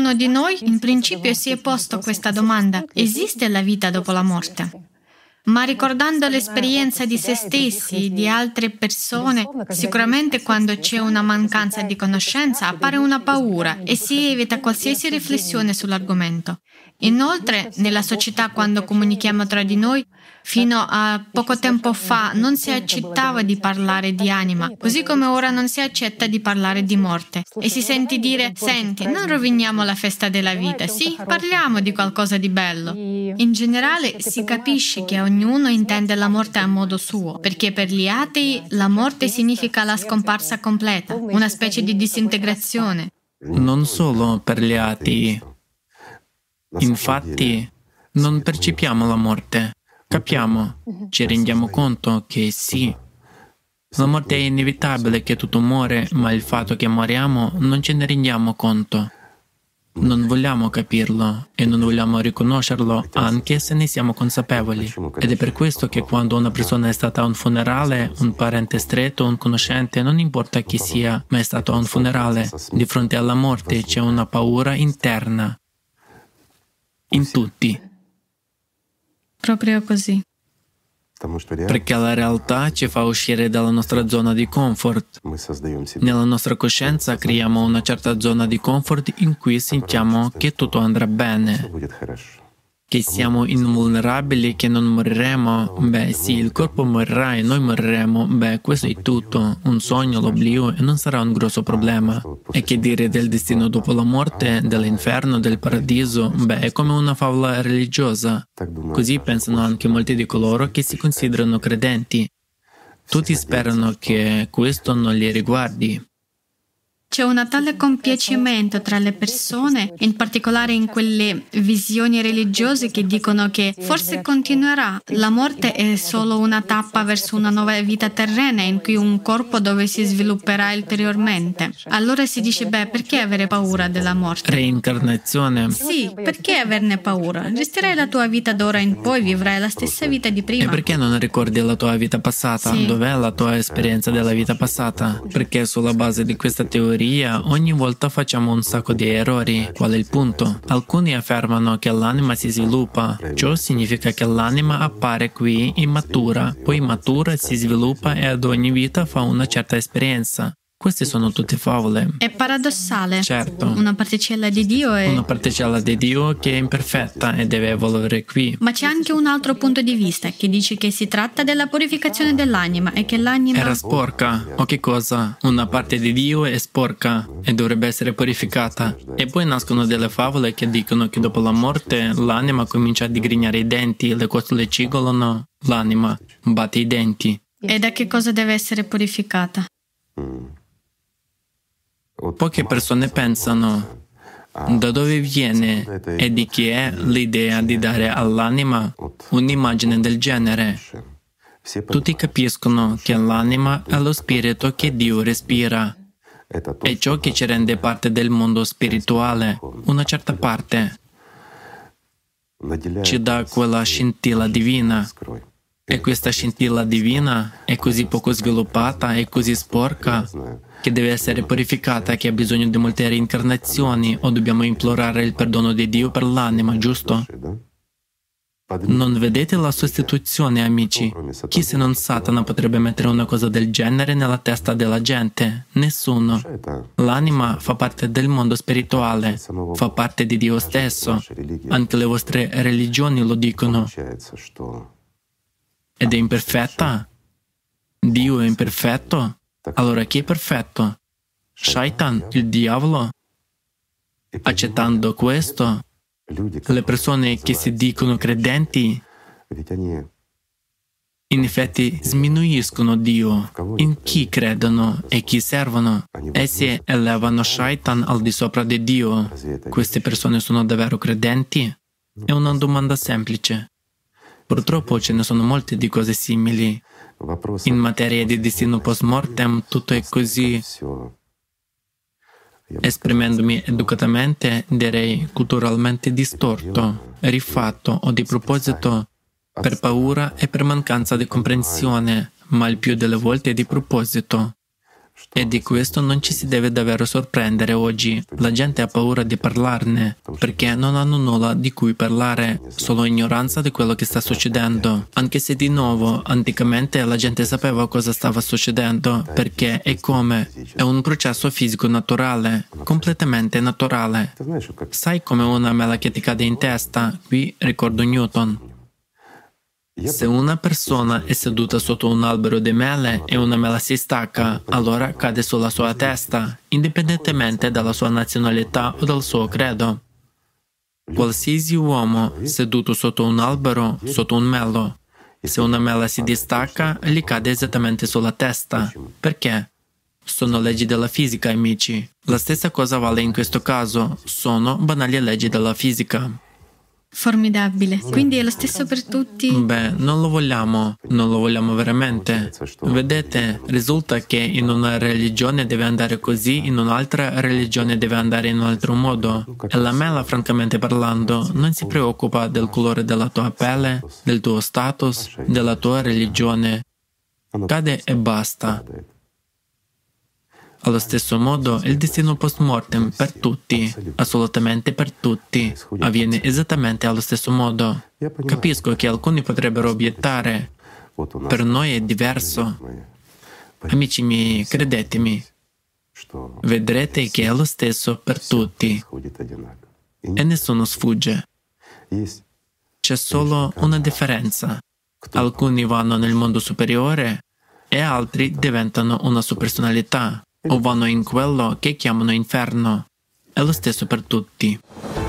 Ognuno di noi in principio si è posto questa domanda: esiste la vita dopo la morte? Ma ricordando l'esperienza di se stessi, di altre persone, sicuramente quando c'è una mancanza di conoscenza appare una paura e si evita qualsiasi riflessione sull'argomento. Inoltre, nella società, quando comunichiamo tra di noi, fino a poco tempo fa non si accettava di parlare di anima, così come ora non si accetta di parlare di morte. E si sente dire: senti, non roviniamo la festa della vita, sì, parliamo di qualcosa di bello. In generale si capisce che ognuno intende la morte a modo suo, perché per gli atei la morte significa la scomparsa completa, una specie di disintegrazione. Non solo per gli atei. Infatti, non percepiamo la morte. Capiamo, ci rendiamo conto che sì, la morte è inevitabile, che tutto muore, ma il fatto che moriamo non ce ne rendiamo conto. Non vogliamo capirlo e non vogliamo riconoscerlo, anche se ne siamo consapevoli. Ed è per questo che quando una persona è stata a un funerale, un parente stretto, un conoscente, non importa chi sia, ma è stato a un funerale, di fronte alla morte c'è una paura interna. In tutti. Proprio così. Perché la realtà ci fa uscire dalla nostra zona di comfort. Nella nostra coscienza creiamo una certa zona di comfort in cui sentiamo che tutto andrà bene, che siamo invulnerabili, che non moriremo. Beh sì, il corpo morirà e noi moriremo. Beh, questo è tutto, un sogno, l'oblio, e non sarà un grosso problema. E che dire del destino dopo la morte, dell'inferno, del paradiso? Beh, è come una favola religiosa. Così pensano anche molti di coloro che si considerano credenti. Tutti sperano che questo non li riguardi. C'è un tale compiacimento tra le persone, in particolare in quelle visioni religiose che dicono che forse continuerà. La morte è solo una tappa verso una nuova vita terrena in cui un corpo dove si svilupperà ulteriormente. Allora si dice: beh, perché avere paura della morte? Reincarnazione. Sì, perché averne paura? Gestirai la tua vita d'ora in poi, vivrai la stessa vita di prima. E perché non ricordi la tua vita passata? Sì. Dov'è la tua esperienza della vita passata? Perché sulla base di questa teoria ogni volta facciamo un sacco di errori. Qual è il punto? Alcuni affermano che l'anima si sviluppa. Ciò significa che l'anima appare qui immatura, poi matura, si sviluppa e ad ogni vita fa una certa esperienza. Queste sono tutte favole. È paradossale. Certo. Una particella di Dio è... Una particella di Dio che è imperfetta e deve evolvere qui. Ma c'è anche un altro punto di vista che dice che si tratta della purificazione dell'anima e che l'anima... Era sporca. O che cosa? Una parte di Dio è sporca e dovrebbe essere purificata. E poi nascono delle favole che dicono che dopo la morte l'anima comincia a digrignare i denti, le costole cigolano, l'anima batte i denti. E da che cosa deve essere purificata? Poche persone pensano da dove viene e di chi è l'idea di dare all'anima un'immagine del genere. Tutti capiscono che l'anima è lo spirito che Dio respira. È ciò che ci rende parte del mondo spirituale, una certa parte. Ci dà quella scintilla divina. E questa scintilla divina è così poco sviluppata e così sporca che deve essere purificata, che ha bisogno di molte reincarnazioni, o dobbiamo implorare il perdono di Dio per l'anima, giusto? Non vedete la sostituzione, amici? Chi se non Satana potrebbe mettere una cosa del genere nella testa della gente? Nessuno. L'anima fa parte del mondo spirituale, fa parte di Dio stesso. Anche le vostre religioni lo dicono. Ed è imperfetta? Dio è imperfetto? Allora chi è perfetto? Shaitan, il diavolo? Accettando questo, le persone che si dicono credenti in effetti sminuiscono Dio in chi credono e chi servono. Essi elevano Shaitan al di sopra di Dio. Queste persone sono davvero credenti? È una domanda semplice. Purtroppo ce ne sono molte di cose simili. In materia di destino post mortem tutto è così. Esprimendomi educatamente, direi culturalmente distorto, rifatto o di proposito, per paura e per mancanza di comprensione, ma il più delle volte di proposito. E di questo non ci si deve davvero sorprendere oggi. La gente ha paura di parlarne, perché non hanno nulla di cui parlare, solo ignoranza di quello che sta succedendo. Anche se di nuovo, anticamente la gente sapeva cosa stava succedendo, perché e come. È un processo fisico naturale, completamente naturale. Sai come una mela che ti cade in testa? Qui ricordo Newton. Se una persona è seduta sotto un albero di mele e una mela si stacca, allora cade sulla sua testa, indipendentemente dalla sua nazionalità o dal suo credo. Qualsiasi uomo seduto sotto un albero, sotto un melo, se una mela si distacca, gli cade esattamente sulla testa. Perché? Sono leggi della fisica, amici. La stessa cosa vale in questo caso, sono banali leggi della fisica. Formidabile. Quindi è lo stesso per tutti? Beh, non lo vogliamo veramente. Vedete, risulta che in una religione deve andare così, in un'altra religione deve andare in un altro modo. E la mela, francamente parlando, non si preoccupa del colore della tua pelle, del tuo status, della tua religione. Cade e basta. Allo stesso modo, il destino post-mortem per tutti, assolutamente per tutti, avviene esattamente allo stesso modo. Capisco che alcuni potrebbero obiettare, per noi è diverso. Amici miei, credetemi, vedrete che è lo stesso per tutti e nessuno sfugge. C'è solo una differenza. Alcuni vanno nel mondo superiore e altri diventano una supersonalità. O vanno in quello che chiamano inferno. È lo stesso per tutti.